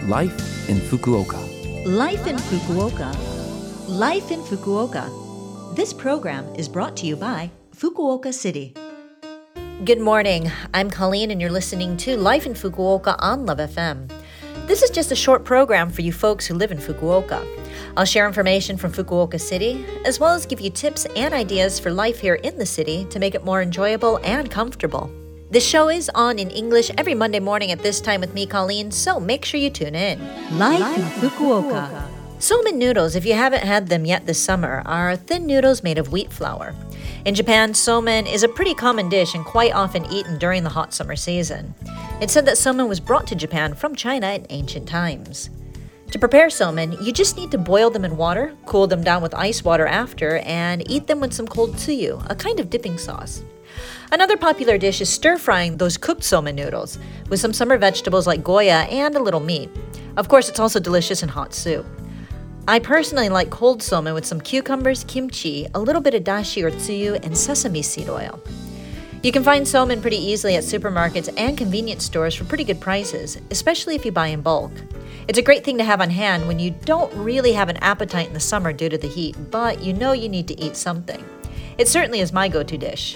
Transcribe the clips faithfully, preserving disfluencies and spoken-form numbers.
Life in Fukuoka. Life in Fukuoka. Life in Fukuoka. This program is brought to you by Fukuoka City. Good morning. I'm Colleen and you're listening to Life in Fukuoka on Love F M. This is just a short program for you folks who live in Fukuoka. I'll share information from Fukuoka City, as well as give you tips and ideas for life here in the city to make it more enjoyable and comfortable. This show is on in English every Monday morning at this time with me, Colleen, so make sure you tune in. Life in Fukuoka. Somen noodles, if you haven't had them yet this summer, are thin noodles made of wheat flour. In Japan, somen is a pretty common dish and quite often eaten during the hot summer season. It's said that somen was brought to Japan from China in ancient times. To prepare somen, you just need to boil them in water, cool them down with ice water after, and eat them with some cold tsuyu, a kind of dipping sauce. Another popular dish is stir-frying those cooked somen noodles with some summer vegetables like goya and a little meat. Of course, it's also delicious in hot soup. I personally like cold somen with some cucumbers, kimchi, a little bit of dashi or tsuyu, and sesame seed oil. You can find somen pretty easily at supermarkets and convenience stores for pretty good prices, especially if you buy in bulk. It's a great thing to have on hand when you don't really have an appetite in the summer due to the heat, but you know you need to eat something. It certainly is my go-to dish.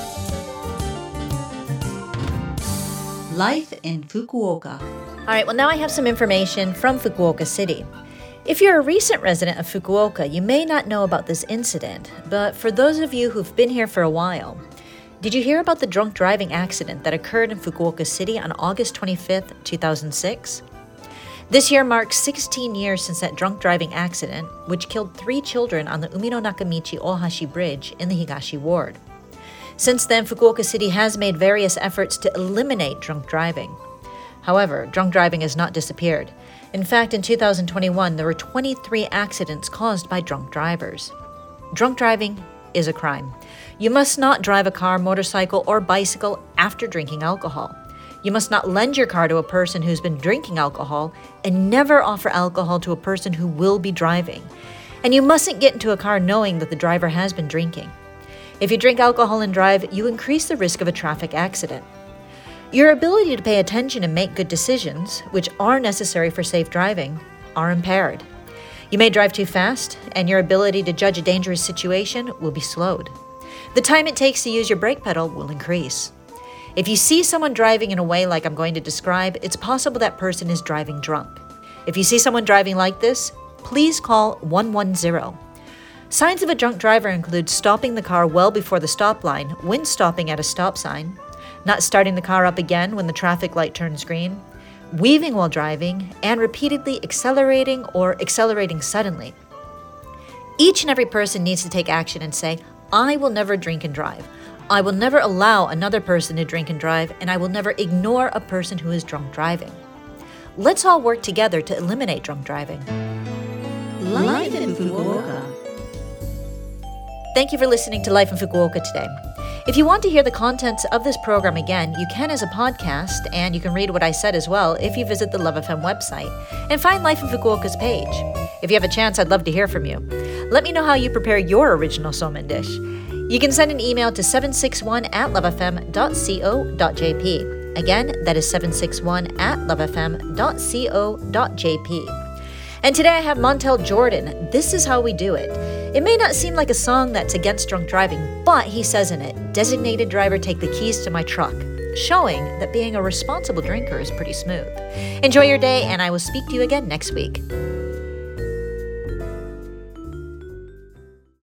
Life in Fukuoka. All right, well, now I have some information from Fukuoka City. If you're a recent resident of Fukuoka, you may not know about this incident, but for those of you who've been here for a while, did you hear about the drunk driving accident that occurred in Fukuoka City on August twenty-fifth, two thousand six? This year marks sixteen years since that drunk driving accident, which killed three children on the Umino Nakamichi Ohashi Bridge in the Higashi Ward. Since then, Fukuoka City has made various efforts to eliminate drunk driving. However, drunk driving has not disappeared. In fact, in two thousand twenty-one, there were twenty-three accidents caused by drunk drivers. Drunk driving is a crime. You must not drive a car, motorcycle, or bicycle after drinking alcohol. You must not lend your car to a person who's been drinking alcohol, and never offer alcohol to a person who will be driving. And you mustn't get into a car knowing that the driver has been drinking. If you drink alcohol and drive, you increase the risk of a traffic accident. Your ability to pay attention and make good decisions, which are necessary for safe driving, are impaired. You may drive too fast, and your ability to judge a dangerous situation will be slowed. The time it takes to use your brake pedal will increase. If you see someone driving in a way like I'm going to describe, it's possible that person is driving drunk. If you see someone driving like this, please call one one zero. Signs of a drunk driver include stopping the car well before the stop line when stopping at a stop sign, not starting the car up again when the traffic light turns green, weaving while driving, and repeatedly accelerating or accelerating suddenly. Each and every person needs to take action and say, I will never drink and drive. I will never allow another person to drink and drive, and I will never ignore a person who is drunk driving. Let's all work together to eliminate drunk driving. Life in Fukuoka. Thank you for listening to Life in Fukuoka today. If you want to hear the contents of this program again, you can as a podcast, and you can read what I said as well if you visit the Love F M website and find Life in Fukuoka's page. If you have a chance, I'd love to hear from you. Let me know how you prepare your original somen dish. You can send an email to seven six one at lovefm dot co dot jp. Again, that is seven six one at lovefm dot co dot jp. And today I have Montel Jordan. This is how we do it. It may not seem like a song that's against drunk driving, but he says in it, designated driver take the keys to my truck, showing that being a responsible drinker is pretty smooth. Enjoy your day, and I will speak to you again next week.